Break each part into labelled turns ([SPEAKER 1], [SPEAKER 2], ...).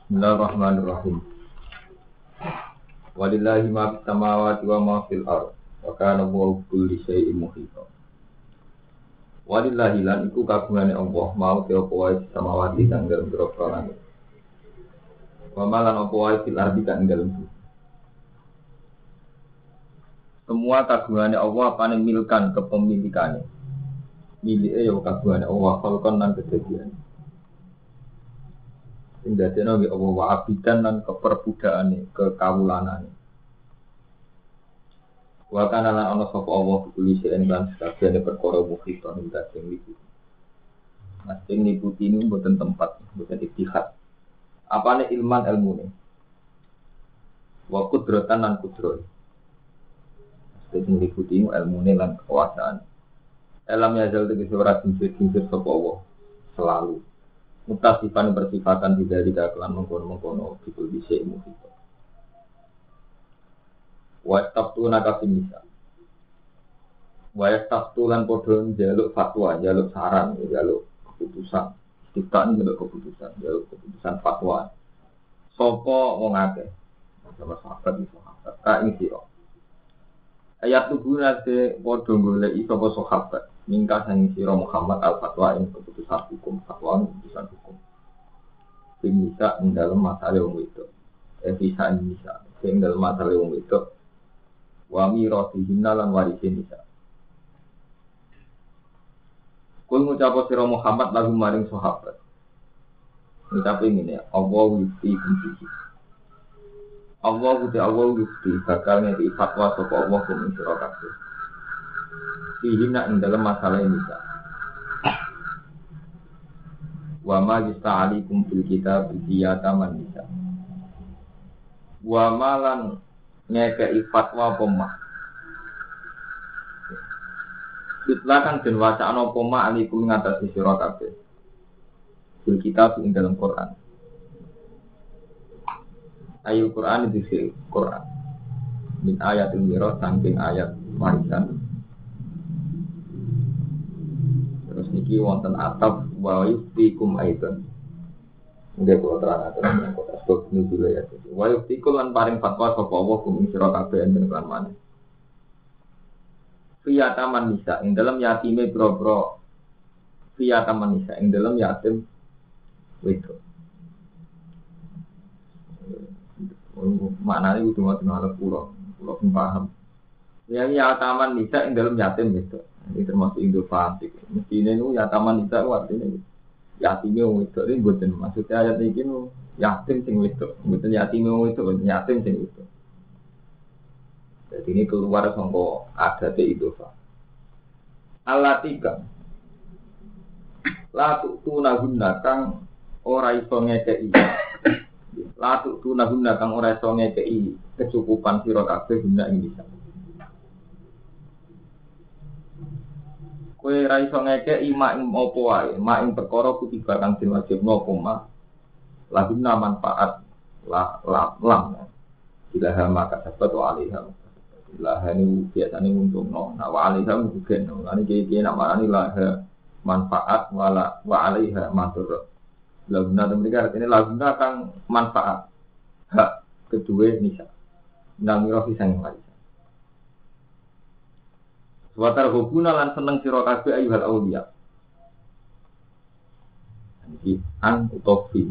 [SPEAKER 1] Bismillahirrahmanirrahim. Walillahi ma fis samawati wa ma fil ardh. Wa kana Allahu kulli syai'in muhita. Walillahi lan iku kagungane Allah mau te apa wae samawati kang dalem grogro langit. Wa malan apa wae fil ardh kang dalem bumi. Semua kagungane Allah apane milkan kepemilikane. Milike ya kagungane Allah kalkon lan kedadian. Sing dadekno nggih Allah wa abidan lan keperbudakane, kekawulanane. Wa kana lan ana sapa Allah kulise ing lan sakjane perkara mukhita ing sing liputi. Nah, sing liputi niku mboten tempat, mboten ittihad. Apane ilman ilmune. Wa qudratan lan kudroh. Sing liputi ilmune lan kekuasaan. Alam yazal tegese ora sing-sing sapa Allah selalu. Mutasifan bersifatan tidak dikatakan mengkono-mengkono gitu bisa muhito. Wastaftu nakafin nisa. Wastaftu lan podo jaluk fatwa, jaluk saran, jaluk keputusan. Kita ini jaluk keputusan fatwa. Sopo wong akeh. Sama sahabat iki sahabat. Ka ing sira. Ayat tubuh nate podo golek sapa sahabat. Mingka sang sira Muhammad al-fatwa ing keputusan hukum fatwa keputusan hukum. Sing bisa ing dalem masalah wong itu. Bisa bisa sing dalem masalah wong itu. Wa miratihin lan warisin bisa. Kul ngucap sira Muhammad lagu maring sahabat. Ngucap ngene, Allah yuti kunci. Allah yuti bakal ngeki fatwa sapa Allah ing sira kabeh. Sihina ing dalam masalah ini bisa. Wa ma yasta'alikum fil kitab biyataman bisa. Wa malan ngekei fatwa pemah. Ditlakan den wacana pemah alikum ngatasi sira kabeh. Fil kitab ing dalam Quran. Ayat Quran itu Quran. Min ayatul mirah saking ayat warisan. Terus niki wonten ataf wa yuftikum aidan. Nggih kula terang-terang yang kota sebab ini dulu ya. Wa yuftikum lan paring fatwa sapa Allah kum sira kabeh enten kan maneh. Fiyataman nisa ing dalem yatime boro-boro. Fiyataman nisa ing dalem yatim wedok. Maknane kudu ngoten ala kula paham. Ya taman nisa ing dalem yatim wedok. Ini termasuk Indo fasik. Mestinya itu ya taman nisa artinya yatimnya wong wedok ini bukan maksudnya ayat ini nu yatim sing wedok, bukan yatimnya wong wedok, yatim sing wedok. Jadi ini keluar sangko adat Indo fasik. Allah tiga. Latu tunaguna kang ora iso ngekei. Latu tunaguna kang ora iso ngekei kecukupan sira kabeh guna ing bisa. Kowe ra iso ngekeki mak ing apa wae, mak ing perkara kutiba kang diwajibno koma. Laguna manfaat lam. Ilaha maka sabat wa alaiha. Ilaha ini biasane untungno, nah wa alaiha mungkin. Lan iki namane ilaha manfaat wa alaiha matur. Laguna mereka artinya laguna kang manfaat. Hak kedua nisa. Namiro pisang wae. Watar hubuna lan seneng sira kabeh ayyuhal auliya. Iki an utofi.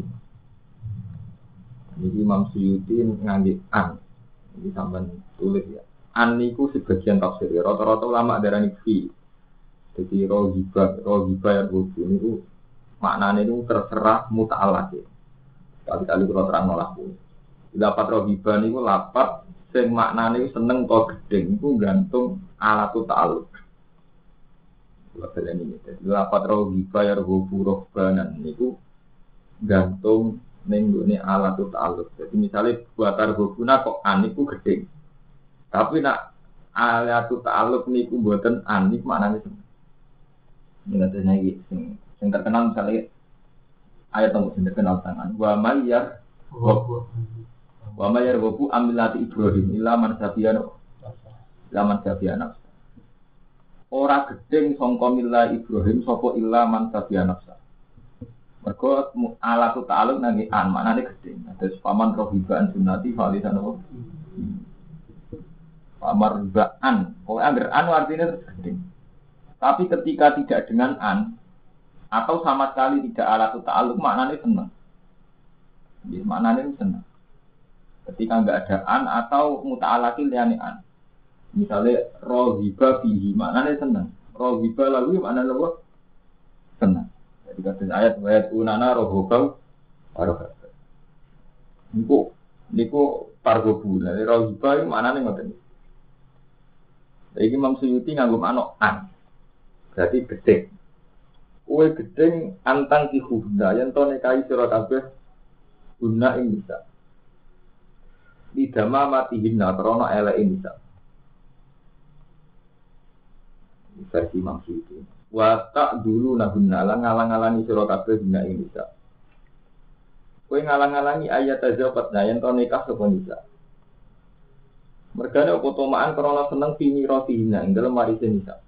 [SPEAKER 1] Jadi Imam Suyuti ngangge an. Ini sampean tulis ya. An niku sebagian tafsir. Rata-rata ulama darani fi. Jadi rohibah ya rubu niku maknane niku terserah muta'alaq. Kali-kali kula terang laku. Lapat rohibah niku lapat sing maknane seneng to gedeng iku gantung alatu ta'alluq. Kula baleni iki. Lapat rohibah ya rubu rohbanan niku gantung ning nggone alatu ta'alluq. Jadi misalnya buatar hubuna kok an niku gedeng. Tapi nak alatu ta'alluq niku mboten an niku maknane seneng. Ini iki sing terkenal misalnya ayat nomor sing terkenal sangan wa mayyar wa mayyar wabu amilati Ibrahim illa man sabiana ora gedeng sangka milah Ibrahim sapa illa man sabiana Mergo alat ta'aluk nang an maknane gedhe. Terus paman rohibaan sunnati falisan apa? Pamar ribaan. Pokoke angger an artinya gedhe. Tapi ketika tidak dengan an atau sama sekali tidak alat ta'aluk maknane seneng. Jadi maknane seneng. Ketika enggak ada an atau muta'alaqil liyane an. Misalnya rohiba fihi maknanya senang. Rohiba lalu maknanya apa? Senang. Jadi kata ayat wayat unana rohobau warohab. Niku pargobu. Jadi rohiba itu maknanya ngoten. Jadi Imam Suyuti nganggo manuk an. Berarti gedeng. Kue gedeng antang ki hubna yen to nekai sira kabeh guna ing bisa. Lidama matihinna krana eleke bisa. Versi Imam Suyuti. Wa tak dulu nahunna ngalang-alangi sira kabeh dina ing bisa. Kowe ngalang-alangi ayat azabat yen to nikah sapa bisa. Mergane apa tomaan krana seneng fini rotihina ing dalem warise bisa.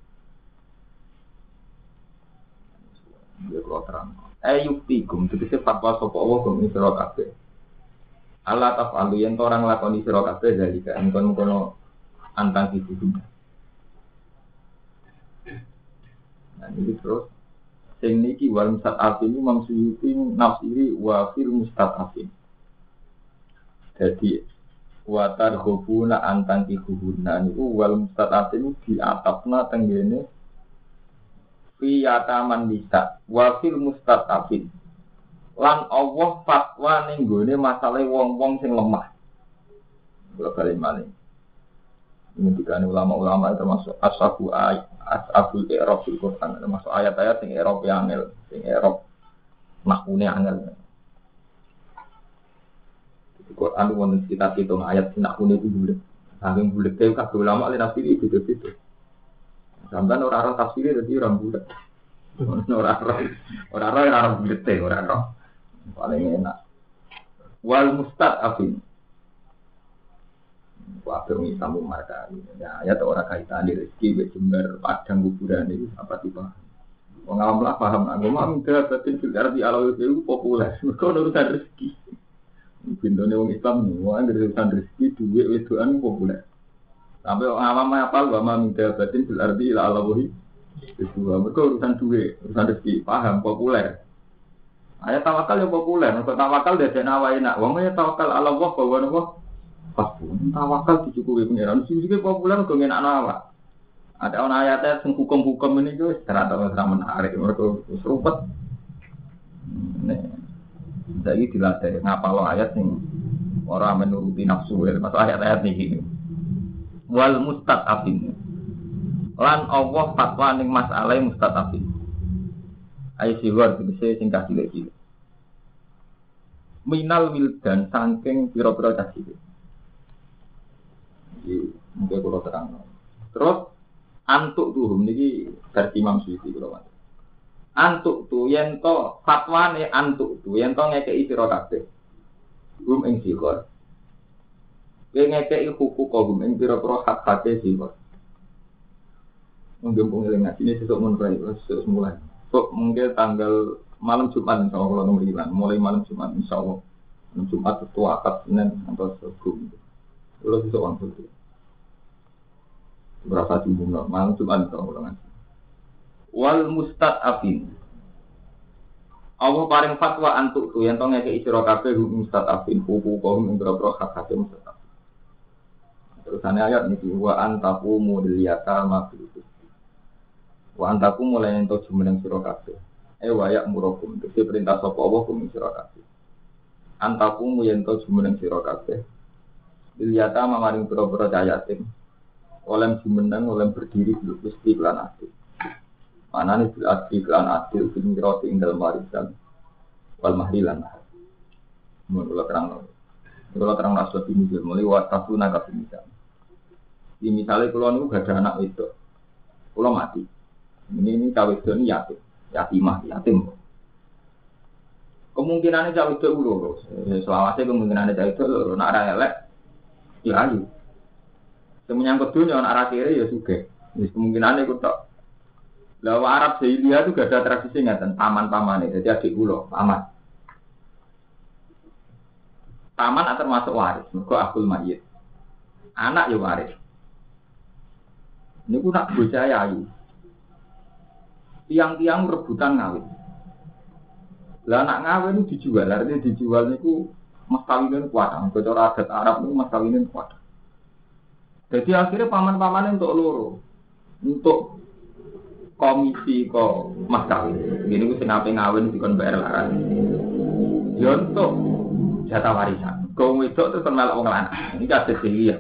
[SPEAKER 1] Ya kula terang. Ayuktikum tegese fatwa sapa Allah gum sira kabeh. Allah tafalu yen to orang lakoni sira kabeh dalika engkon kono antang iki. Nah ini terus sing niki wal mustadafin Imam Suyuti nafsiri wa fil mustadafin. Jadi wa targhubuna antang kihuna niku wal mustadafin diatapna tenggene fi yataman nisa wa fil mustadafin. Lan Allah fatwa ning gone masalah wong-wong sing lemah. Kula bali malih. Ini dikane ulama-ulama termasuk ashabul i'rab fil Quran, termasuk ayat-ayat sing i'rab angel, sing i'rab makune angel. Di Quran wonten sekitar 7 ayat sing makune iku bulet. Saking bulete kabeh ulama le nafsir iki beda-beda. Sampeyan ora ora tafsir dadi ora bulet. Ora bulete, ora. Paling enak. Wal mustadafin waktu ini sambung marka ya ayat orang kaitan di rezeki jember padang kuburan itu apa tipe pengalaman lah paham agama minta batin filter di alam itu populer mereka urusan rezeki bintone orang Islam semua urusan rezeki duit wedoan populer sampai orang awam apa agama minta batin filter di alam itu mereka urusan duit urusan rezeki paham populer ayat tawakal yang populer mereka tawakal dari nawa enak wongnya tawakal Allah bahwa Allah pas pun tawakal dicukupi pengiran sing populer kok enak awak. Ada ana ayat sing hukum-hukum ini ku ternyata menarik mereka serupet. Nek saiki dilatih ngapalo ayat sing ora menuruti nafsu masuk ayat-ayat niki. Wal mustadafin. Lan Allah fatwa ning masalah mustadafin. Ayo siwar tegese sing cilik-cilik. Minal wildan saking pira-pira cah cilik. Mungkin kalau terang. Terus antuk tuhum niki versi Imam Suyuti kalau mas. Antuk tu yen to fatwane antuk tu yen to ngekeki sira kabeh. Gum ing sikor. Yen ngekeki hukuk gum ing pira-pira hak-hake sikor. Mungkin pengelingan ini sesuk mun bae sesuk mulai. Kok mungkin tanggal malam Jumat insyaallah kalau nomor 9 mulai malam Jumat insyaallah. Malam Jumat itu akad Senin atau Senin. Kalau bisa orang itu berapa jumlah malam Jumat kalau wal mustadafin Allah paring fatwa antuk tu yang tongnya ke isra kabeh mustadafin hukum ing boro hak-hak mustadafin terusane ayat niki wa antaqumu liyata mafil wa antaqumu lan ento jumeneng sira kabeh wa ya murakum dadi perintah sapa Allah kum sira kabeh antaqumu yen to jumeneng sira kabeh Diliata mamaring pura-pura cayatim oleh jumeneng, oleh berdiri mesti kelan adil mana nih bil adil kelan adil bin roti ing dalam warisan wal mahlilan menurut terang rasul ini mulai watafu naga misal di misalnya kalau nih gak ada anak itu kalau mati ini cawe ini yatim kemungkinannya cawe itu ulo selawasnya kemungkinannya cawe itu ulo nak elek ya ayu. Semenyangkut dunia anak arah kiri ya suge. Kemungkinan itu tak. Lah Arab jahiliyah itu gak ada tradisi ngaten paman-pamane. Jadi adik kula, paman. Paman termasuk waris, mergo akul mayit. Anak ya waris. Niku nak bocah ayu. Tiang-tiang rebutan ngawin. Lah anak ngawin dijual, artinya dijual niku mas kawinin kuat. Cara adat Arab niku mas kawinin kuat. Jadi akhirnya paman-paman untuk loro, untuk komisi kok mas kawin. Gini ku senape ngawin dikon bayar laran. Ya untuk jatah warisan. Kau wedok terus melok wong lanang. Ini kados ya.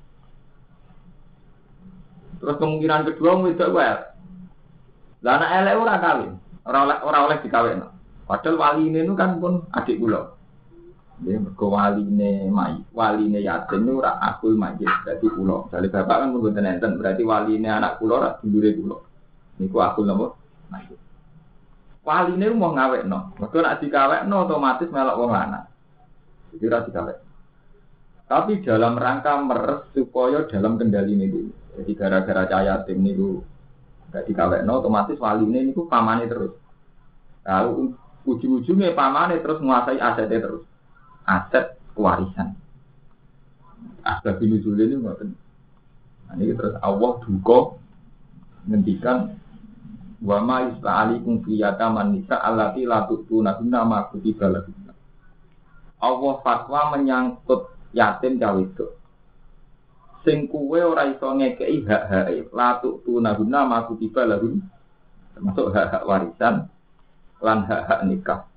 [SPEAKER 1] Terus kemungkinan kedua wedok wae. Lah anak elek ora kawin, ora oleh dikawinno. Padahal waline itu kan pun adik kula. Nggih, mergo waline yatim niku ora akul mayit dadi kula. Dadi bapak kan mboten enten, berarti waline anak kula ora dulure kula. Niku akul napa? Mayit. Waline mau ngawekno. Mergo nek dikawekno otomatis melok wong lanang. Jadi ora dikawek. Tapi dalam rangka meres supaya dalam kendali ini. Jadi gara-gara cahaya tim niku gak dikawekno otomatis waline niku pamane terus. Lalu ujung-ujungnya pamane terus menguasai asetnya terus. Aset warisan. Asbab nuzul ini ngoten. Nah ini terus Allah duka ngendikan wa ma yus'alikum fi yataman nisa allati la tu'tuna ma kutiba lahum. Allah fatwa menyangkut yatim cawe wedok. Sing kuwe ora iso ngekeki hak-hake, la tu'tuna ma kutiba lahum. Termasuk hak-hak warisan lan hak-hak nikah.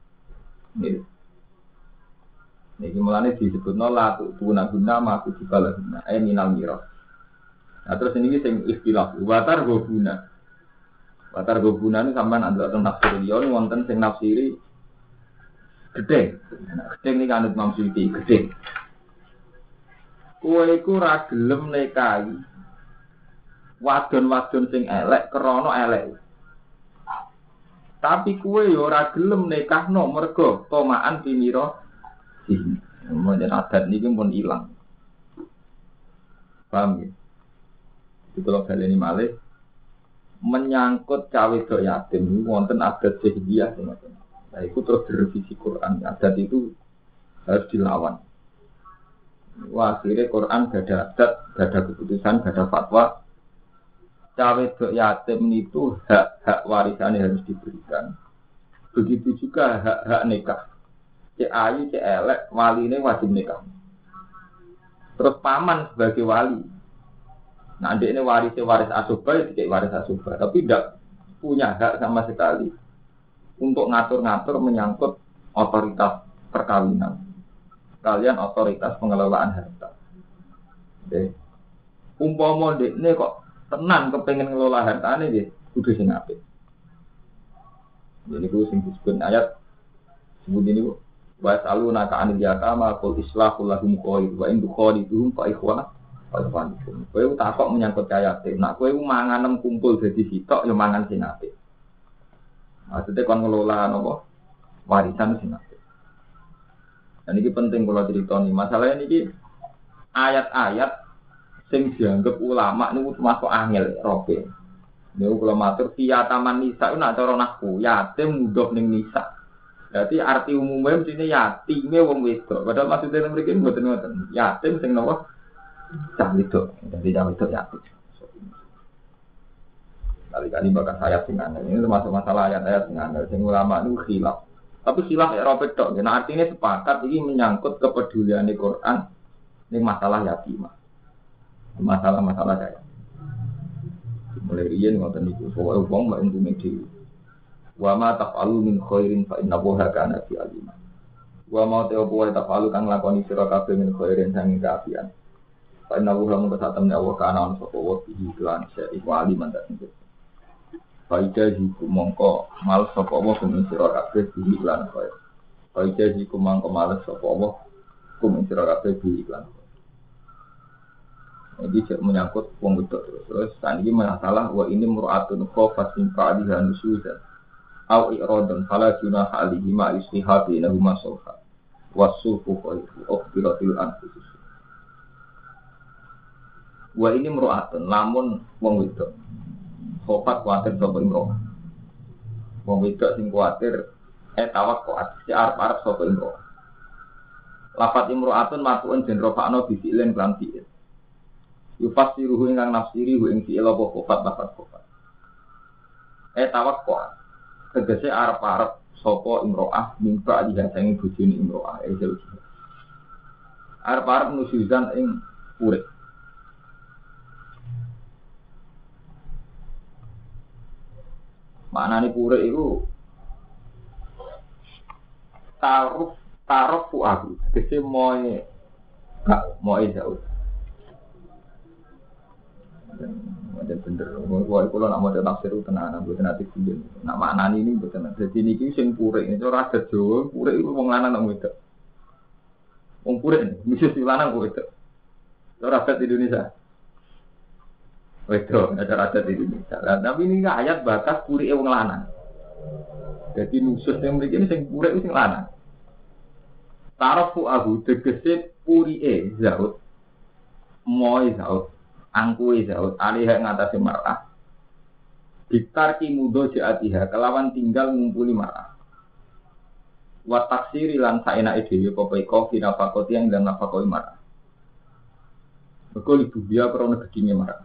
[SPEAKER 1] Niki mulane disebutno la tu'tuna ma kutiba lahum. Minal miras. Nah terus ini sing istilah watar gobuna. Watar gobuna ini sampean antuk teng tafsir liya wonten sing nafsiri gede. Gede niki anut Imam Suyuti gede. Kowe iku ra gelem nikahi wadon-wadon sing elek krana elek. Tapi kowe yo ora gelem nikahno mergo tomaan pinira sih. Menjen adat niki pun ilang. Paham ya? Itu kalau baleni malih menyangkut cawe wedok yatim wonten adat jahiliyah semacam. Nah, itu terus direvisi Quran. Adat itu harus dilawan. Wah, akhirnya Quran gak ada adat, gak ada keputusan, gak ada fatwa. Cawe wedok yatim itu hak warisannya harus diberikan. Begitu juga hak nikah. Cek ayu, cek elek, wali ini wajib nikah. Terus paman sebagai wali. Nah, adik ini waris asubah, ya cek waris asubah. Tapi tidak punya hak sama sekali untuk ngatur-ngatur menyangkut otoritas perkawinan. Kalian otoritas pengelolaan harta. Oke. Umpama ini kok tenan kepengen ngelola hartane nggih, kudu sing apik. Jadi ku sing disebut ayat sebut ini ku wa saluna ka anil yatama qul islahu lahum khair wa in dukhaliduhum fa ikhwana fa ikhwanukum. Kowe takok menyangkut yatim. Nak kowe manganem kumpul dadi sitok ya mangan sing apik. Maksudnya kon ngelola napa? Warisan sing apik. Dan ini penting kalau cerita nih. Masalahnya ini ayat-ayat sing dianggap ulama ini termasuk angel robe. Ini kalau matur via taman nisa itu nak cara nahku yatim mudah ning nisa. Berarti arti umumnya mesti yatime wong wedok. Padahal maksudnya mereka ini mboten-mboten. Yatim sing napa? Cah wedok. Jadi cah wedok yatim. Kali-kali bakal sayap sing angel. Ini termasuk masalah ayat-ayat sing angel. Sing ulama itu khilaf. Tapi khilaf Eropa tok. Nah artinya sepakat ini menyangkut kepedulian di Quran ini masalah yatimah. Masalah-masalah saya. Mulai riyen ngoten niku, soal wong mek untunge dhewe. Wa ma taf'alu min khairin fa innahu kana fi alim. Wa ma taf'alu kang lakoni sira kabeh min khairin sang kaafian. Fa innahu lamun kesatemne Allah kana on sapa wa bihi lan iku aliman tak sing. Faida jiku mongko mal sapa Allah kumin sira kabeh bihi lan khair. Faida jiku mongko mal sapa Allah kumin sira kabeh bihi lan. Jadi menyangkut wong wedok terus kan iki masalah wa ini mur'atun khafatin fa'aliha nusudan au iradan fala junaha alihi ma istihati lahu masulha wasufu khairu ukhbiratil anfusus. Wa ini mur'atun lamun wong wedok Khofat kuatir sapa imro'ah. Wong wedok sing kuatir tawakkuat si arep sapa imro'ah. Lafat imro'atun matuun den rofa'no bisilen lan fi'il. Yufasiruhu ingkang nafsiri hu ing fi'il apa khofat lafat khofat. Tawakkuat tegese arep sapa imro'ah mimpa dihasangi bojone imro'ah jauh. Arep nusuzan ing urip. Maknane pure iku taruh aku tegese moe gak moe jauh. Macam bener, kalau nak mau tafsir itu tenan, bukan nanti kuliah. Nak maknani ini bukan. Jadi niki sing pure ini cara adat Jawa, pure itu wong lanang nang wedok. Wong pure ini, mesti si lanang kok wedok. Cara adat Indonesia. Wedok, cara adat Indonesia. Tapi ini ayat bakas pure wong lanang. Jadi nusus yang mriki ini sing pure itu sing lanang. Tarafu ahu tegese puri zaud. Moe zaud. Angkuwe zaud alih ngatasi mar'ah. Ditarki mudo jaatiha kelawan tinggal ngumpuli mar'ah. Wa taksiri lan saenake dhewe popeko finafakoti yang dalam nafakoi mar'ah. Mergo ibu dia krana gedine mar'ah.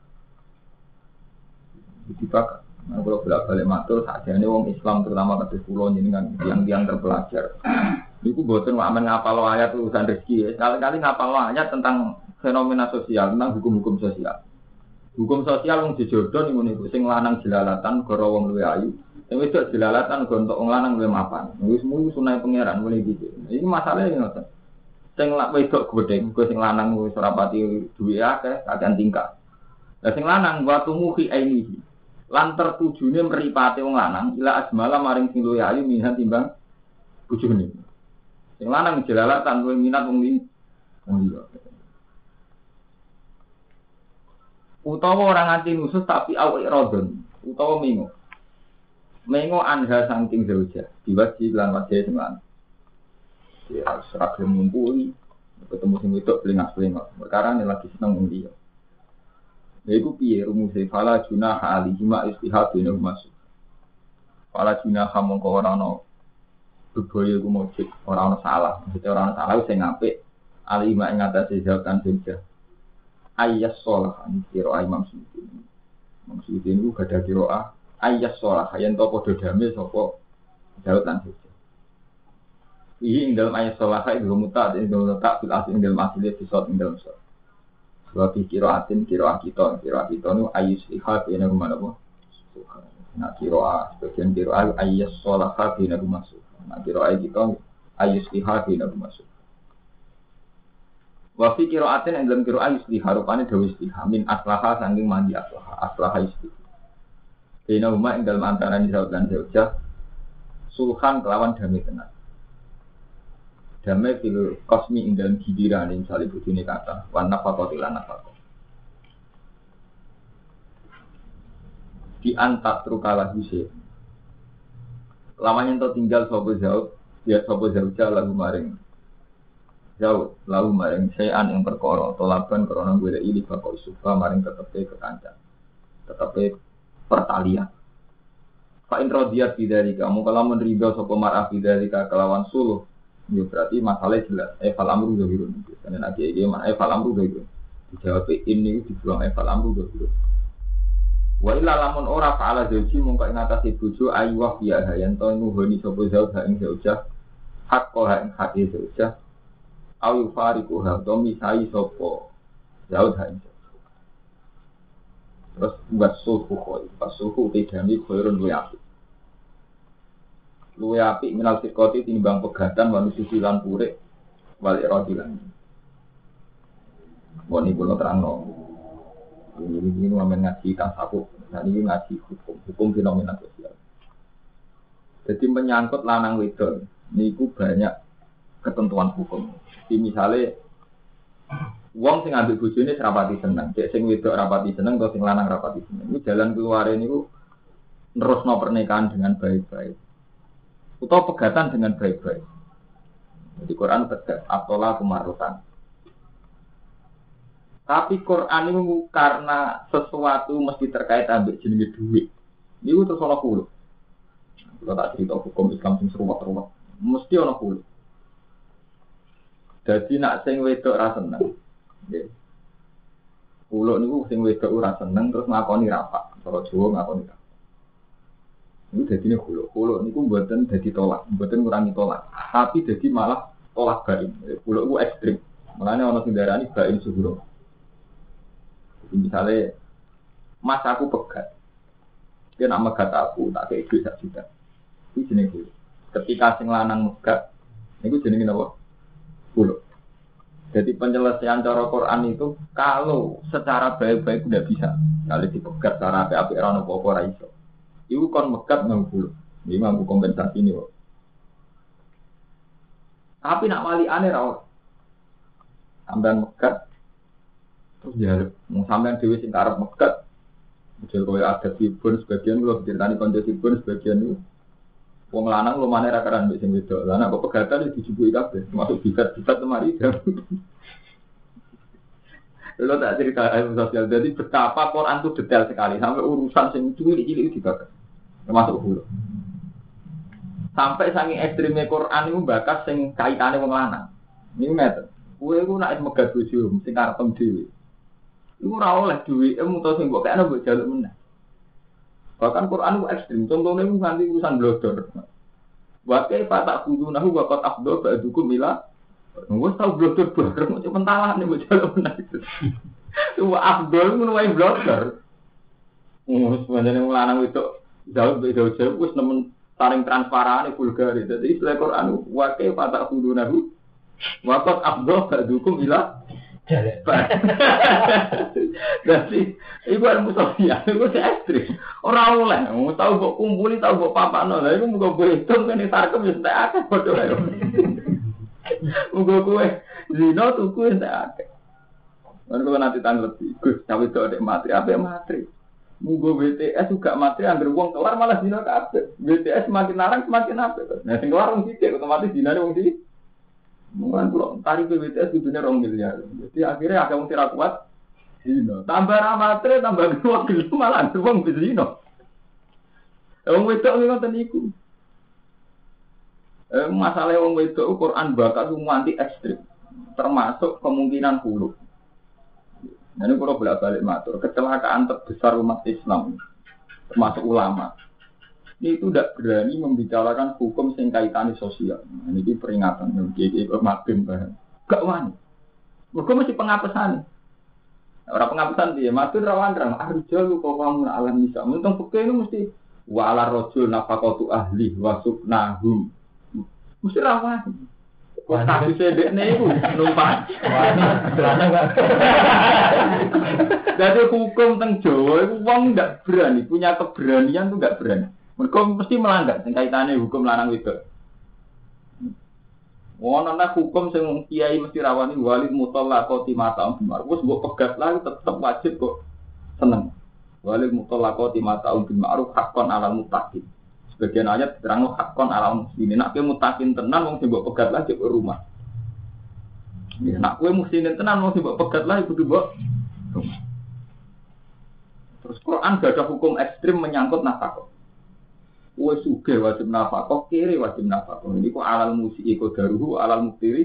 [SPEAKER 1] Dipakai. Nah, kalau bolak-balik matur sakjane wong Islam terutama kados kula jenengan yang terpelajar. Niku boten amen ngapal ayat urusan rezeki. Sekali-kali ngapal ayat tentang fenomena sosial, tentang hukum-hukum sosial. Hukum sosial wong dijodoh niku sing lanang jelalatan gara wong luwih ayu. Sing wedok jelalatan gara entuk wong lanang luwih mapan. Wis mung sunah pangeran mulai gitu. Iki masalahe ngoten. Sing wedok gedeng, sing lanang wis ora pati duwe akeh, kakean tingkah. Lah sing lanang watu muhi ainihi. Lan tertujune mripate wong lanang ila asmala maring sing luwih ayu minhan timbang bojone. Sing lanang jelalatan luwih minat wong liya. Utawa orang nganti nusus tapi awake rodon, utawa mengo. Mengo anha saking zauja, diwaji lan wajah sing ya seragam ngumpuli, ketemu sing wedok pelingak-pelingak. Perkara ini lagi seneng wong liya. Lha iku piye rumuse fala junah alihi ma istihad bina masuk. Fala junah mongko ora ana bebaya iku mujud, ora ana salah. Mesti ora ana salah sing apik ali ma ing atase jawatan zauja. Ayas sholah ini kiroah Imam Suyuti. Imam Suyuti ini juga ada kiroah ayas sholah yang tau podo damai sopo Daud lan Hujjah. Ini dalam ayas sholah itu mutat, ini dalam letak fil asli dalam asli disot dalam sot. Sebab kiroatin kiroah kita ini ayus lihat ini rumah apa? Nah kiroah sebagian kiroah ayas sholah ini rumah suh. Nah kiroah kita ayus lihat ini rumah suh. Wa fi qira'atin ing dalam qira'ah yusliha rupane dawuh istiha min aslaha saking mandi aslaha istiha. Dene umma ing dalam antarané Daud lan Zaujah sulhan kelawan damai tenan. Damai fil kosmi ing dalam giliran ing salib bojone kata wan nafaqati lan nafaqah. Di antat trukala huse. Lamanya ento tinggal sapa Zaud, ya sapa Zaujah lagu maring Zaud lalu maring sayan yang perkara tolaban karena gue ili bakal suka maring tetepe kekancan tetepe pertalian. Pak Indro dia tidak kamu kalau menerima sopo marah tidak kelawan suluh, ya berarti masalah jelas. Fal amru dohirun. Karena nanti ini mana fal amru dohirun. Dijawab ini dibuang fal amru dohirun. Wa illa lamun ora faala zauji mongko ing atase bojo ayu ya hayan to nuhoni sopo Zaud ha ing Zaujah hak ko ha ing hak Zaujah. Ayu fariku ha to misai sapa Daud ha. Terus buat suhu koi, pas suhu tidami koirun luwe api minal sikoti tinimbang pegatan manusia silan purek balik rodilan. Boni pulau terang no. Ini ngamen ngaji tasawuf, dan ini ngaji hukum fenomena sosial. Jadi menyangkut lanang wedon, niku banyak ketentuan hukum. Jadi misalnya wong sing ambil bojone rapati seneng, cek sing wedok rapati seneng atau sing lanang rapati seneng. Iku jalan keluare niku nerusno pernikahan dengan baik-baik. Utawa pegatan dengan baik-baik. Jadi Quran tegas atola kemarutan. Tapi Quran itu karena sesuatu mesti terkait ambek jenenge duit. Niku terus ana kulo. Kalau tak cerita hukum Islam sing seruat-ruat, mesti ana kulo. Dadi nak sing wedok ra seneng. Nggih. Kulo niku sing wedok ora seneng terus ngakoni rapak. Cara Jawa ngakoni rapak. Ini dadine kulo. Kulo niku mboten dadi tolak, mboten ngurangi tolak. Tapi dadi malah tolak bain. Kulo ku ekstrim. Mulane ana sing darani bain suhuro. Misalnya, mas aku pegat, dia nak megat aku, tak kayak duit 1 juta. Itu jenis dulu. Ketika sing lanang megat, itu jenis apa? Dulu. Jadi penyelesaian cara Quran itu, kalau secara baik-baik udah bisa. Kalau dipegat secara api-api, rana apa-apa raiso. Itu kan megat nggak dulu. Ini mampu kompensasi ini. Tapi nak wali aneh rawat. Sampai megat, terus ya, mau sampean dewi sing karep megat, model koyo ada sibun sebagian lo diceritani konco sibun sebagian itu, wong lanang lo mana rakaran mbek sing wedok, lanang kok pegatan itu dijupui kabeh, termasuk bikat lemari jam. Lo tak cerita ilmu sosial, jadi betapa Quran itu detail sekali, sampai urusan sing cilik-cilik itu dibahas, termasuk hulu. Sampai saking ekstrimnya Quran itu bakas sing kaitannya wong lanang, ini meter. Kue ku nak megat bojo, sing karep dhewe. Iku ora oleh duwe mutus sing mbok kene mbok jaluk meneh. Bahkan Quran ku ekstrem, contohnya ku nganti urusan blodor. Wa kaifa ta'khudunahu wa qad afdha ba'dukum ila wis tau blodor bareng cuma pentalane mbok jaluk meneh. Wa afdol ngono wae blodor. Wis manjane lanang wedok jauh beda jauh wis nemen saling transparan vulgar. Dadi istilah Quran wa kaifa ta'khudunahu wa qad afdha ba'dukum ila jadi ibu ada musuhnya, ibu si ekstrim. Orang oleh, mau tahu buat kumpuli, tahu buat papa nol. Ibu mau gue hitung kan ini tarkem yang tak ada bodoh ayo. Mau gue zino tuh gue tak ada. Kalau nanti tanggal lebih, gus cawe itu ada materi, apa materi? Mau gue BTS juga materi, angker uang keluar malah zino kabeh. BTS semakin larang semakin apa? Nah, sing keluar orang sih, otomatis zino ada orang sih. Mungkin kalau tarik BTS itu dunia 2 miliar. Jadi akhirnya agak mesti kuat. Zino. Tambah ramatri, tambah uang gelu malah uang bezino. Uang wedok itu kan iku. Masalah uang wedok Quran bakat semua anti ekstrim. Termasuk kemungkinan hulu. Nah, ini kalau bolak-balik matur, kecelakaan terbesar umat Islam, termasuk ulama. Ini itu tidak berani membicarakan hukum sing kaitannya sosial. Nah, ini peringatan bagi mabim bahan. Gak wani. Mereka masih pengapesan. Orang pengapesan dia, matur rawan arja lu kok kamu alam bisa. Untung peke itu mesti wa ala rajul nafaqatu ahli wa suknahum. Mesti rawan. Kok tak bisa dekne iku numpak. Wani celana enggak. Jadi hukum teng Jawa itu wong enggak berani, punya keberanian tuh enggak berani. Mereka mesti melanggar sing kaitane hukum lanang wedok. Wonono hukum sing kiai mesti rawani walid mutallaqati mata'um bimar. Wes mbok pegat lah tetep wajib kok seneng. Walid mutallaqati mata'um bimar hakon ala mutaqin. Sebagian ayat terang hakon ala muslimin. Nek mutaqin tenan wong sing mbok pegat lah cek rumah. Ya nek kowe muslimin tenan wong sing mbok pegat lah kudu mbok rumah. Terus Quran gak ada hukum ekstrim menyangkut nafkah. Kue suge wajib nafkah, kiri wajib nafkah. Ini kok alal musiki kodaruhu, alal muktiri.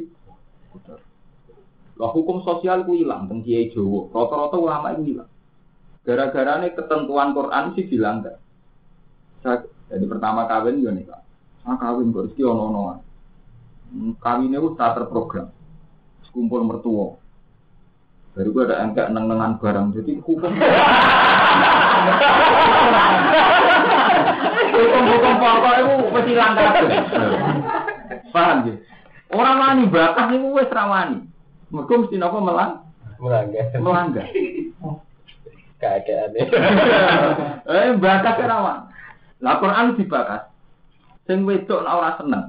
[SPEAKER 1] Lah hukum sosial ku hilang, teng Kiai Jawa. Rata-rata ulama itu hilang. Gara-gara ini ketentuan Quran sih dilanggar. Jadi pertama kawin yo nih, Pak. Kawin kok rezeki ono-onoan. Kawinnya itu tak terprogram. Kumpul mertua. Baru gue ada angka neng-nengan barang. Jadi hukum. Hukum pokok itu pasti langgar. Paham ya? Orang wani bakas itu wes rawani. Mereka mesti apa melanggar.
[SPEAKER 2] Keadaannya.
[SPEAKER 1] Bakas rawan. Lah Quran dibakas. Sing wedok ora seneng.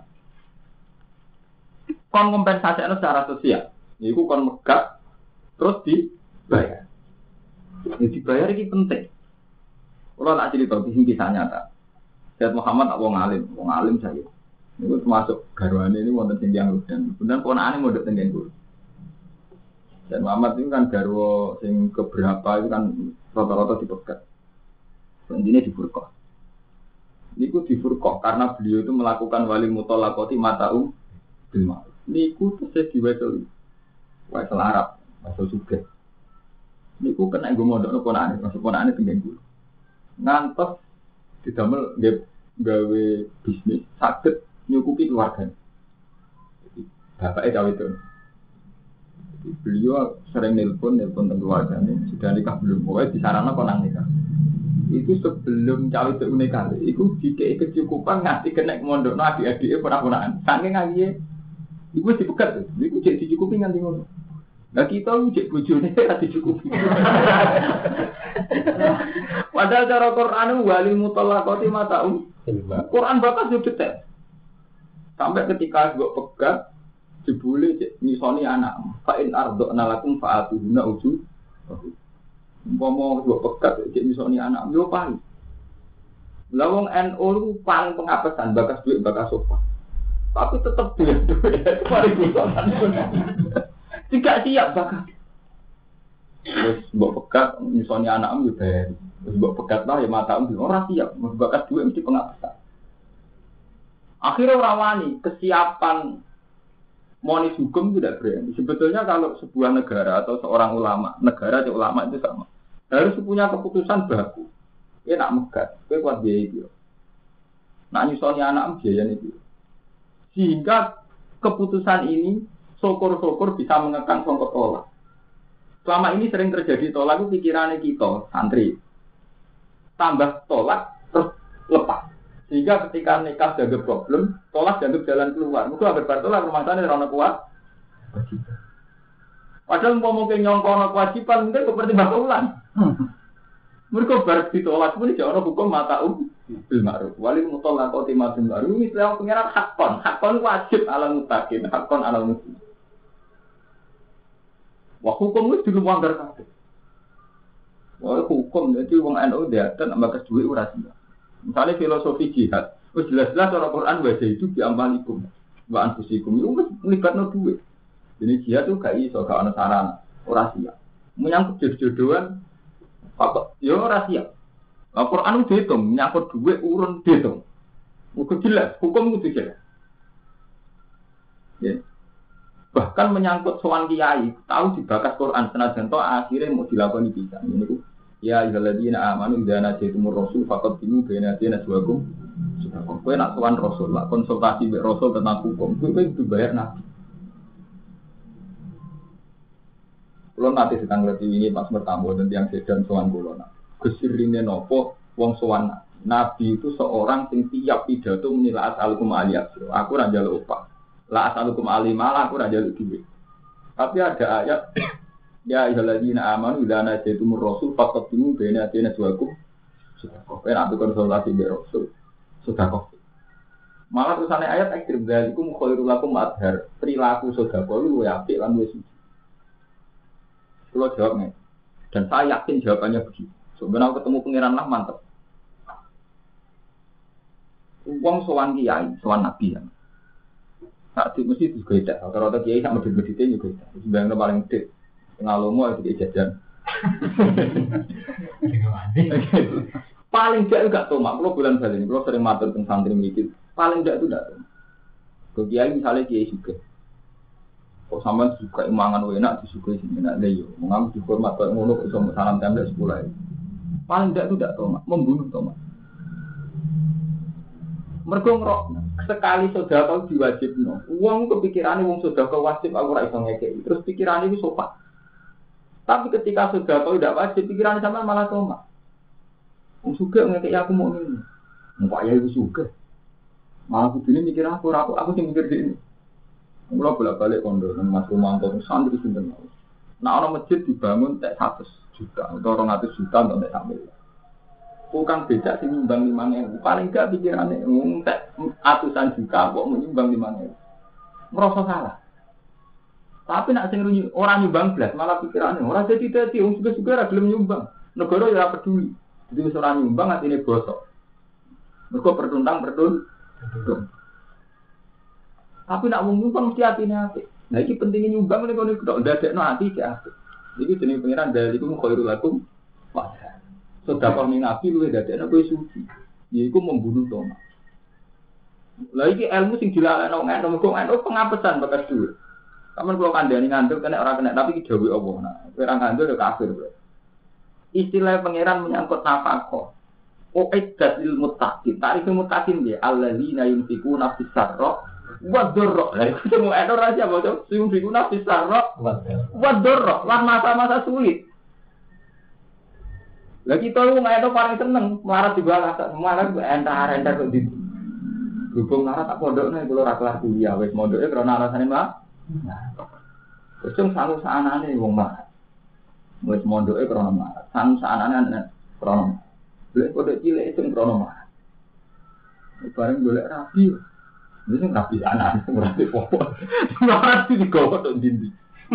[SPEAKER 1] Kon kompensasi secara sosial. Iku kon megak terus dibayar. Ini dibayar ini penting. Kalau tak cerita kisah nyata. Syed Muhammad wong alim saya. Ini termasuk garwane ini wonten sing yang dan kemudian ponakane mondok teng Guru. Dan Muhammad itu kan garwa sing keberapa itu kan rata-rata dipegat. Intinya di Furqah. Niku di Furqah karena beliau itu melakukan wali mutolakoti mata'um bil ma'ruf. Niku terus diwajib. Wajib Arab, wajib juga. Niku kena gue modal ponane, masuk ponane tinggal dulu. Ngantos didamel gawe bisnis sakit nyukupi keluarga. Bapaknya cawe itu. Beliau sering nelpon tentang keluarganya. Sudah nikah belum? Pokoknya disarankan konang nikah. Itu sebelum cawe itu nikah. Itu dikei kecukupan ngasih kena mondok adik-adiknya pernah-pernah. Saking ngaji, itu dipegat. Itu jadi dicukupi nganti ngono. Nah kita ucap bujurnya tidak dicukupi. Padahal cara Quran wali mutolakoti mata'um. Quran bakas juga detail. Sampai ketika gue pegat, dibully nyisoni anak. Fa'in ardo'na lakum fa'atuhuna uju. Ngomong gue pegat, nyisoni anak. Yo paling. Lawang NU itu paling pengapesan, bakas duit, bakas sopan. Tapi tetap duit. Itu paling bukan. Tidak siap bakat. Terus mbok pegat misalnya anakmu juga bayar. Terus mbok pegat lah ya matamu orang siap. Bakat duit mesti pengapesan. Akhirnya orang wani kesiapan monis hukum tidak berani. Sebetulnya kalau sebuah negara atau seorang ulama, negara atau ulama itu sama. Harus punya keputusan baku. Dia nak megat, dia kuat biaya itu. Nak nyusulnya anakmu biaya itu. Sehingga keputusan ini syukur-syukur bisa mengekang songkok tolak. Selama ini sering terjadi tolak itu pikirannya kita, santri. Tambah tolak, terus lepas. Sehingga ketika nikah jaga problem, tolak dianggap jalan keluar. Mungkin agar bertolak rumah sana rana kuat. Padahal mungkin nyongkong kewajiban, mungkin kepertimbang ulang. Mereka baru ditolak pun tidak ada hukum mata'um bil ma'ruf. Wali mutolakoti bil ma'ruf. Ini istilah pengiran hakon. Hakon wajib ala mutakin, hakon ala muslim. Wah hukum itu dulu melanggar kabeh. Wah hukum jadi wong NU dia dan ambakas duit urasia. Misalnya filosofi jihad, jelas-jelas orang Quran baca itu diambalikum, wa anfusikum itu melibatkan duit. Jadi jihad itu gak iso gak ana sarana urasia. Menyangkut jodoh-jodohan apa? Ya urasia. Al-Quran itu dihitung, menyangkut duit urun dihitung. Itu jelas, hukum itu jelas. Ya. Bahkan menyangkut soal kiai, tahu dibakas Quran senajan to akhirnya mau dilakukan bisa. Ini ku ya ayyuhalladzina amanu idza najaytumur rasul faqaddimu baina yadayna najwakum. Sudah kowe nak sowan rasul, lah konsultasi mbek rasul tentang hukum, kowe dibayar nabi. Kulo nanti sedang ngerti ini pas bertamu dan yang sedan sowan kulo nak. Kesirine nopo wong sowan nabi itu seorang sing tiap pidato menilai asal-hukum aliyah. Aku ora njaluk upah. La asalukum alimalah aku raja duit. Tapi ada ayat ya ayyuhalladzina amanu idza najaytumur rasul faqaddimu baina yadayna najwakum. Sudah kok enak konsultasi be rasul. Sudah kok. Malah tulisannya ayat ekstrem dzalikum khairul lakum adhar. Perilaku sedekah lu apik lan wis. Kalau jawabnya dan saya yakin jawabannya begitu. Sebenarnya ketemu pangeran lah mantap. Wong sowan kiai, sowan nabi ya. Saat itu mesti juga tidak. Rata-rata kiai sama medit-meditnya juga tidak. Sebenarnya paling medit. Ngalomo itu jajan. Paling tidak juga tomak. Kalau bulan balik ini, kalau sering matur tentang santri mikir, paling tidak itu tidak tomak. Kalau kiai misalnya kiai juga. Kok sama suka imangan enak, disukai sini enak leyo. Mengambil dihormat, kalau ngono bisa salam tembak 10. Paling tidak itu tidak tomak. Membunuh tomak. Mergo ngrok sekali sedekah diwajibno. Wong kepikirane wong sedekah wajib aku ora iso ngekeki. Terus pikirane iki sopan. Tapi ketika sedekah tidak wajib, pikirane sampean malah tomak. Wong sugih ngekeki aku mau ngene. Mbak ya iku sugih. Malah kudune mikir aku sing mikir dhewe. Mula bolak-balik kondo nang Mas Romanto santri sinten. Nah ana masjid dibangun tek 100 juta atau 200 juta untuk tek sambil. Bukan beda sih nyumbang 5.000. Paling gak pikirannya ntek atusan juta kok menyumbang 5.000. Merasa salah. Tapi nak sing orang nyumbang belas malah pikirannya orang jadi wong juga ora gelem nyumbang. Negara ya peduli. Jadi wis ora nyumbang atine bosok. Mergo pertuntang. Tapi nak wong nyumbang mesti atine apik. Nah iki pentingnya nyumbang nek kono kok ndadekno ati cek apik. Iki jenenge pangeran dalikum khairul lakum wa sedekah ning nabi luwih ndadekno kowe suci. Yaiku membunuh Thomas. Lah iki ilmu sing dilalekno ngono mergo pengapesan bekas dhuwit. Kamen kula kandhani ngandel kena ora kena tapi iki dawuh Allah. Nah, kowe ora ngandel ya kafir, Bro. Istilah pangeran menyangkut nafkah. Uiddat lil muttaqin. Tarif muttaqin dia alladzina yunfikuna fis sarra wa dharra. Lah iku semua ada rahasia apa tuh? Yunfikuna fis sarra wa dharra. Lah masa-masa sulit. Lah kita lu ngaito paling seneng melarat di bawah semua kan entar-entar kok di berhubung melarat tak pondokne kula ora kelar kuliah wis mondoke krana alasane mah. Wis sanggup saanane wong mah. Wis mondoke krana mah. Sanggup saanane krana golek kodok cilik sing krono mah. Bareng golek rapi. Wis sing rapi anak ora apa. Rapi digowo tok dindi.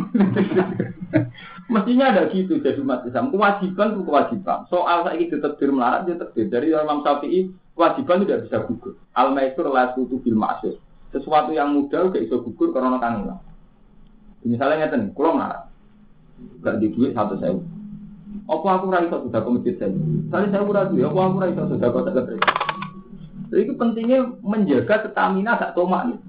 [SPEAKER 1] Mestinya ada gitu jadi umat Islam. Kewajiban itu kewajiban. Soal saiki ditakdir melarat dia takdir dari Imam Syafi'i kewajiban tidak bisa gugur. Al-maisur la tutu bil ma'sur. Sesuatu yang mudah gak iso gugur karena kangen. Misalnya ngeten, kula melarat. Gak di duit 100.000. Apa aku ora iso sedekah masjid saya? Saya ora duwe, apa aku ora iso sedekah sak gereja. Jadi itu pentingnya menjaga stamina gak tomak nih.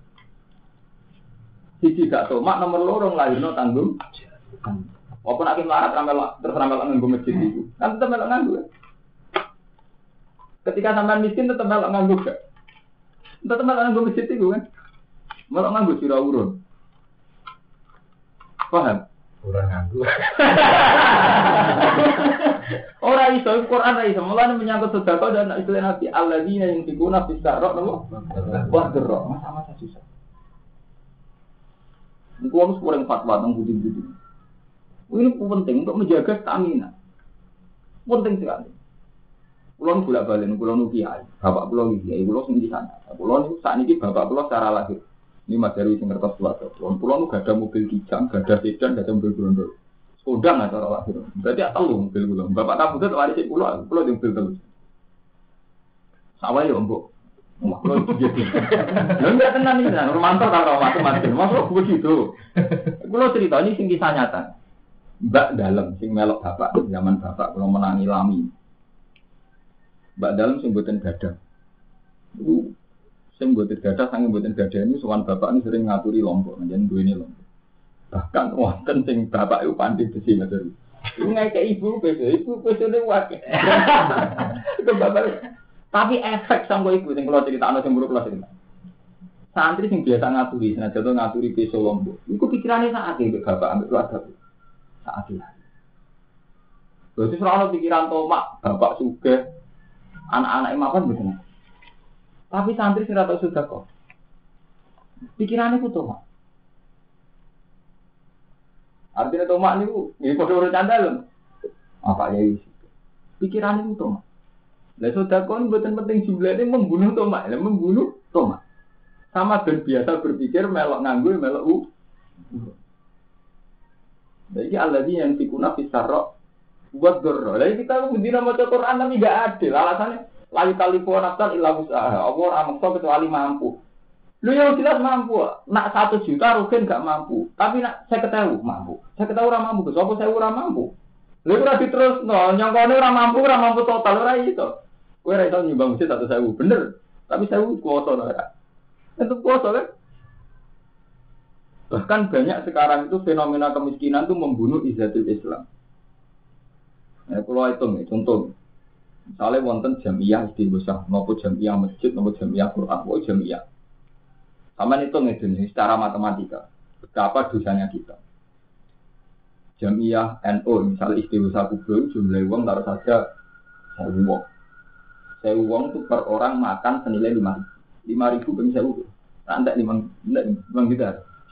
[SPEAKER 1] Siji gak tomak nomor loro lahirno tanggung. Apa nak melarat terus ramal nganggo masjid itu. Kan tetep melok nganggo. Ketika sampean miskin tetep melok nganggo gak? Tetep melok nganggo masjid itu kan. Melok nganggo sira urun. Paham?
[SPEAKER 2] Kurang nganggu.
[SPEAKER 1] Orang iso Quran ra iso mulane menyangkut sedekah dan istilah Nabi alladzina yunfikuna fis sarra napa wa dharra masa-masa susah. Iku harus kurang fatwa tentang budi-budi. Ini penting untuk menjaga stamina. Penting sekali. Kulo bolak-balik kulo kiai, bapak kulo kiai, kulo sing di sana. Kulo niku sakniki bapak kulo secara lahir. Ini Mas Darwi sing ngertos suatu. Pulau gak ada mobil kijang, gak ada sedan, gak ada mobil grundol. Kodang nggak cara lahir. Berarti telu mobil pulau. Bapak kamu tuh waris pulau di mobil telu. Sawah ya mbok. Pulau gitu. Lalu nggak tenang ini, Romanto kalau macam-macam. Masuk begitu. Pulau cerita ini sing kisah nyata. Mbak dalam sing melok bapak zaman bapak pulau menangi lami. Mbak dalam sing buatin gada. Sing mboten gadah sange mboten gadah ini sowan bapak ini sering ngaturi lombok njen duwene lombok. Bahkan wonten sing bapak iku pandhit besi ngoten. Iku ngeke ibu besone wae. Ke bapak. Tapi efek sanggo ibu sing kula critakno sing buruk kula cerita. Santri sing biasa ngaturi, senajan ngaturi beso lombok. Iku pikirane sak ake mbek bapak ambek keluarga. Sak ake. Berarti ora ono pikiran tomak, bapak sugih, anak-anake mapan mboten. Tapi santri sing ora tau sedekah. Pikirane ku tomak. Artinya tomak niku nggih padha ora candal. Apa ya iki? Pikirane ku tomak. Lah sedekah mboten penting jumlahnya membunuh tomak, membunuh tomak. Sama dan biasa berpikir melok nganggo melok Jadi alladzina yanfikuna fis sarra wa dharra. Lah kita mendina maca Quran tapi enggak adil. Alasannya layu kalifu nafsan illa usaha. Apa ora maksa kecuali mampu. Lu yang jelas mampu. Nak 1 juta rugen enggak mampu. Tapi nak 50.000 mampu. 50.000 ora mampu. Sopo 1.000 ora mampu. Lha ora diterusno, nyangkone ora mampu total ora iso. Kowe ora iso nyumbang masjid 1.000 bener. Tapi 1.000 kuota ora. Itu kuota kan? Bahkan banyak sekarang itu fenomena kemiskinan itu membunuh izzatul Islam. Kalau hitung, contoh. Misalnya wonten jamiah istighosah, maupun jamiah masjid, maupun jamiah Quran, maupun jamiah. Sama itu ngedeni secara matematika. Berapa dosanya kita? Jamiah NU, misalnya istighosah kubur, jumlah uang taruh saja 1.000 uang. 1.000 uang itu per orang makan senilai 5.000. 5.000 per 1.000. Nanti 5 juta.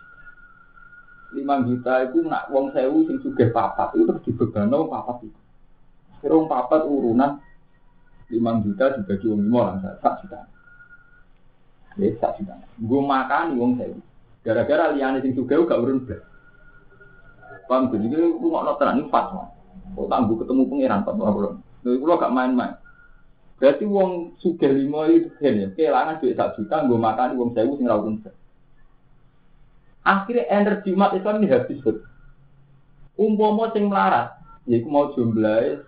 [SPEAKER 1] 5 juta itu nak uang 1.000 sing sugih papat itu terus dibebano papat itu. Serong papat urunan 5 juta dibagi wong 5 lah, 1 juta. Ya, 1 juta. Gue makan wong 1.000. Gara-gara liyane sing sugih gak urun blas. Paham jadi ku ngono tenan iki fatwa. Kok tangguh ketemu pangeran fatwa kula. Lha kula gak main-main. Berarti wong sugih 5 itu ya kelangan duit 1 juta nggo makan wong 1.000 sing ra urun blas. Akhirnya energi umat Islam ini habis. Umpama sing melarat, yaiku mau jumlahe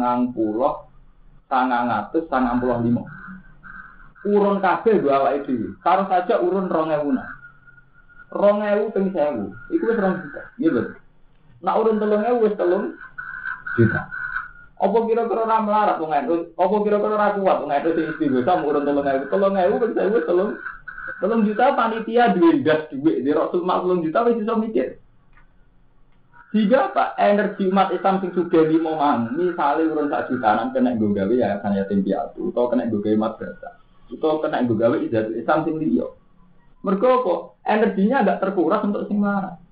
[SPEAKER 1] 995. Urun kabeh go awake dhewe. Karo saja urun 2000. 2000 ping 1000. Iku wis 2 juta. Iya betul. Nak urun 3000 wis 3 juta. Apa kira-kira ora melarat wong itu? Apa kira-kira ora kuat wong itu sing istighosah urun 3000. 3000 ping 1000 wis 3 juta panitia duwe gas duwe. Di Rasul 3 juta wis iso mikir. Jika Pak energi umat Islam sing sugih 5 mang, misale urun 1 jutaan kena nggo gawe yayasan yatim piatu utawa kena nggo gawe madrasah, utawa kena nggo gawe Izzatul Islam sing liya. Mergo apa? Energinya agak terkuras untuk sing melarat.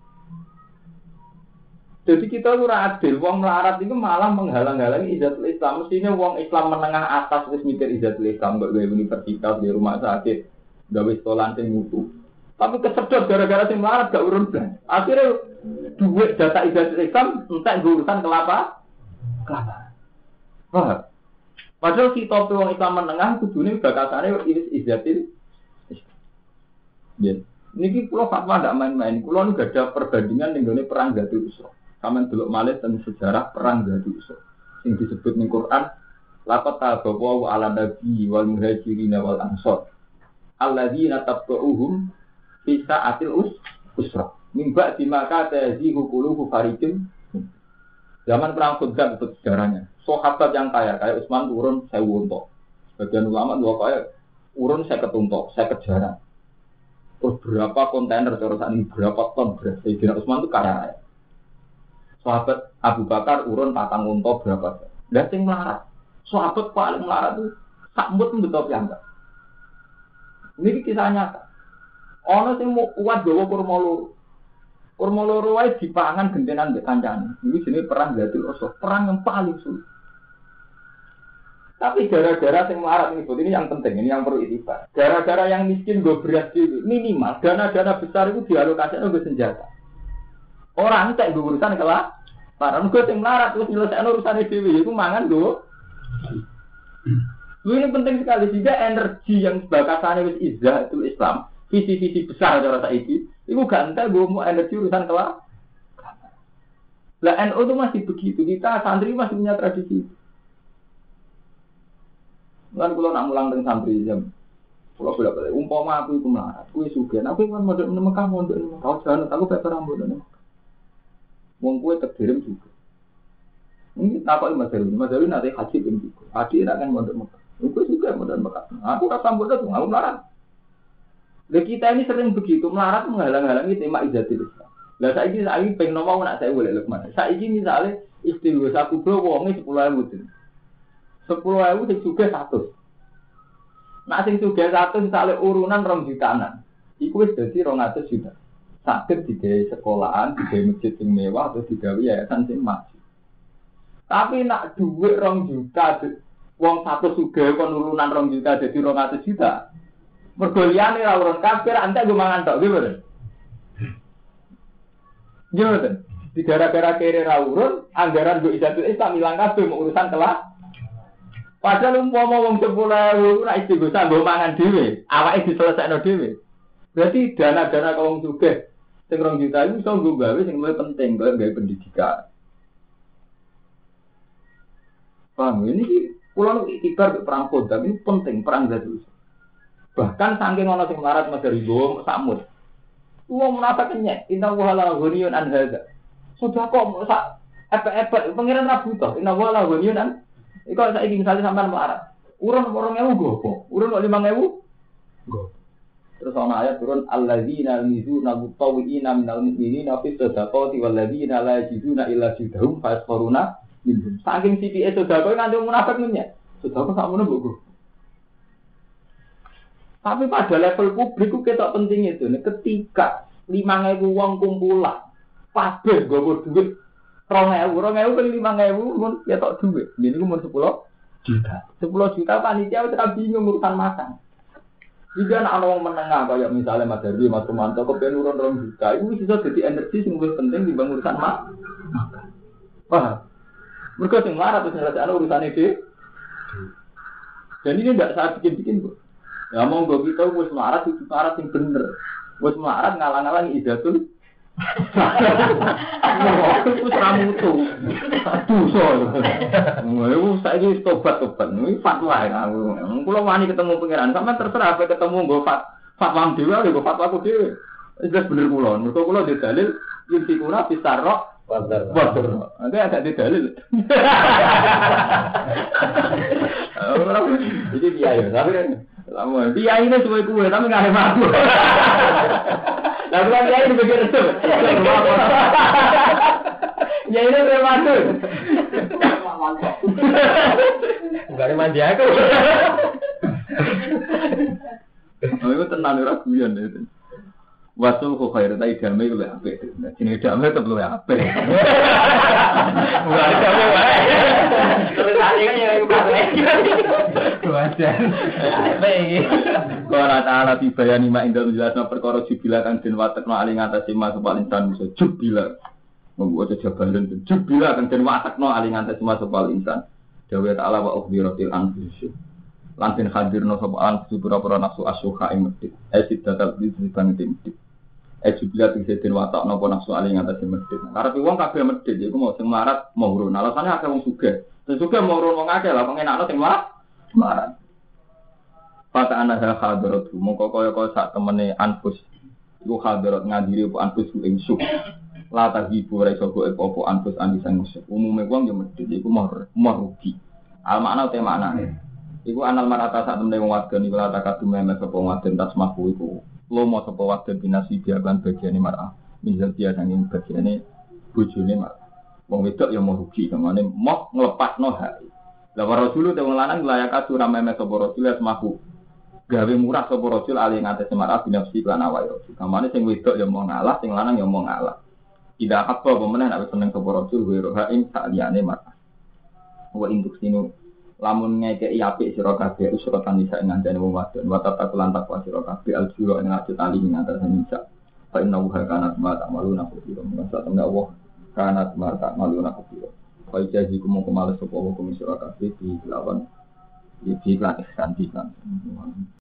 [SPEAKER 1] Jadi kita ora adil, wong melarat itu malah menghalang-halangi Izzatul Islam. Mestinya wong Islam menengah atas wis mikir Izzatul Islam kok gawe universitas di rumah sakit, gawe sekolah sing mutu. Tapi kesedot gara-gara sing melarat gak urun blas. Akhirnya duit data Izzatul Islam entek urusan kelapa. Wah. Padahal si topi wong Islam menengah kudune bakatane Izzatul Islam. Ya. Niki kula fatwa ndak main-main. Kula nu gak ada perbandingan ning gone perang Zatul Usra. Sampeyan delok malih tentang sejarah perang Zatul Usra. Sing disebut ning Quran laqad tabawu ala nabi wal muhajirin wal ansor. Alladzina tabu'uhum fi sa'atil usra. Mimba di maka tazihu qulubu farijin. Zaman perang Khandaq itu sejarahnya. Sahabat yang kaya kayak Utsman turun 1000 unta. Sebagian ulama dua kaya urun 50 unta, 50 jaran. Terus berapa kontainer terusan ini berapa ton beras. Sayyidina Utsman itu kaya raya. Sahabat Abu Bakar urun 4 unta berapa. Lah sing melarat. Sahabat paling melarat itu sakmut betul piyambak. Ini kisah nyata. Ana sing kuat gawa kurma loro. Kurma loro wae dipangan gentenan mbek kancane. Iki jenenge perang Zatul Usra, perang yang paling sulit. Tapi gara-gara sing melarat ini yang penting, ini yang perlu itibar. Gara-gara yang miskin go beras dhewe, minimal dana-dana besar itu dialokasikan untuk senjata. Orang tak go urusan kelah, para nego sing melarat terus nyelesaikno urusane dhewe iku mangan go. Ini penting sekali sehingga energi yang bakasane wis izzah itu Islam. Visi-visi besar cara saiki, itu gak entek mau energi urusan kelah. Lah NU itu masih begitu, kita santri masih punya tradisi. Kan kalau nak mulang dengan santri jam, kalau bolak-balik, umpama aku itu melarat, aku sugih, aku kan mondok di Mekah, kau jangan, aku pakai rambut di Mekah. Wong kue terkirim juga. Ini takut Mas Darwin nanti haji pun juga. Haji nak kan mondok Mekah, aku juga mondok Mekah. Aku rasa mondok tuh, aku melarat. Lah kita ini sering begitu melarat menghalang-halangi tema Izzatul Islam. Lah saiki pengen ngomong nak saya boleh Lukman. Saiki misalnya istighosah kubro wonge 10.000 ten. 10.000 sing sugih 100. Nak sing sugih 100 misalnya urunan 2 jutaan. Iku wis dadi 200 juta. Saged digawe sekolahan, digawe masjid sing mewah atau digawe yayasan sing maju. Tapi nak dhuwit 2 juta wong 100 sugih kon urunan 2 juta dadi 200 juta. Mergo liyane ra urun kafir antek go mangan tok nggih mboten. Nggih mboten. Di gara-gara kere ra urun, anggaran go Izzatul Islam ilang kabeh mau urusan kelah. Padahal umpama wong 10.000 ora istighosah go mangan dhewe, awake diselesaikno dhewe. Berarti dana-dana wong sugih sing 2 juta iku iso nggo gawe sing luwih penting, kaya gawe pendidikan. Paham ini kula nu ikhtiar perang Khandaq ini penting perang Zatul. Bahkan saking ana sing melarat Mas Ribo sakmut. Wong menapa kenyek, inna wa la ghaniyun an hadza. Sudah kok sak epek-epek pengiran ra butuh, inna wa la ghaniyun an. Iku saiki misale sampean melarat. Urun 2.000 go apa? Urun 5.000 go. Terus ana ayat turun alladzina yuzuna mutawwiina minal mu'minina fi sadaqati walladzina la yajiduna illa jidhum fasfaruna minhum. Saking sithike sedekah nganti munafik menyek. Sedekah sakmono mbok. Tapi pada level publik itu ketok penting itu. Ketika 5.000 wong kumpulan, kabeh nggawa duit 2.000 kan 5.000 mun ketok duit. Ini ku mun 10 juta. 10 juta panitia wis ra bingung urusan makan. Jika ana wong menengah kaya misalnya Mas Darwi, Mas Romanto kepen urun 2 juta, itu bisa jadi energi sing luwih penting dibanding urusan makan. Paham? Mergo sing mlarat terus nyelesaikan urusane dhewe. Dan ini tidak saya bikin-bikin, Bu. Ya monggo kita wis melarat itu syarat yang bener. Wes melarat ngalang-alang idatul. Wes ramutu. Dosa. Ngono saiki tobat-tobat. Iki fatwa aku. Kula wani ketemu pangeran, sampean terserah apa ketemu nggo fatwa dhewe nggo fatwaku dhewe. Jelas bener kula. Mergo kula di dalil yuntikuna bisarok Wajar. Nanti ada di dalil. Jadi dia ya, tapi lama. Dia ini cuma kue, tapi nggak ada aku. Lalu kan dia ini begitu. Ya ini termasuk. Enggak ada mandi aku. Oh itu tenang raguan itu. Wasul kok khair ta idame ku lek apik. Jenenge idame tetep luwih apik. Ora idame wae. Terus ane kan yang apik. Wajan. Apik iki. Qala ta'ala bi bayani ma indal jelasna perkara jubila kang den watekno ali ngatasi mas paling insan musuh jubila. Membuat jabalan jubila kang den watekno ali ngatasi mas paling insan. Dawa ta'ala wa ukhbiratil anfus. Lan den hadirno sapa anfus pura-pura nafsu asyuha ing medhit. Esid datal di bangit medhit. Jubilat iki den watak napa nafsu ali ngatasi medhit. Karep wong kabeh medhit iku mau sing marat mau urun. Alasane akeh wong sugih. Sing sugih mau urun wong akeh lah pengenakno sing marat. Fata ana hadarat mongko kaya-kaya sak temene anfus. Iku hadarat ngadiri apa anfus ing suk. La tahibu ra iso kok apa anfus andisan musuh. Umume wong yo medhit iku mau rugi. Al makna te maknane. Iku anal marata sak temene wong wadon iku la takadum memes apa wadon tasmahu iku. Lomo sapa wadon binasi biaban bagiane mar'ah. Misal dia sanging bagiane bojone mar'ah. Wong wedok ya mau rugi, kamane mau nglepasno hak. Lah rasul te wong lanang layak atur meme sapa rasul asmahu. Gawe murah sapa rasul ali ngates mar'ah binafsi lan awake rasul. Kamane sing wedok ya mau ngalah, sing lanang ya mau ngalah. Tidak apa pemenang nek seneng sapa rasul wa roha ing sak liyane mar'ah. Wa induk sinu lamun ngekeki apik sira kabeh usra tanisa ngandane wong wadon wa tatakulan takwa sira kabeh aljura ing ati tali ing antara nisa fa inna wa kana ma ta'maluna khubira masa temne Allah kana ma ta'maluna khubira fa jazi kumo kemales sapa hukum sira kabeh di lawan iki lan ihsan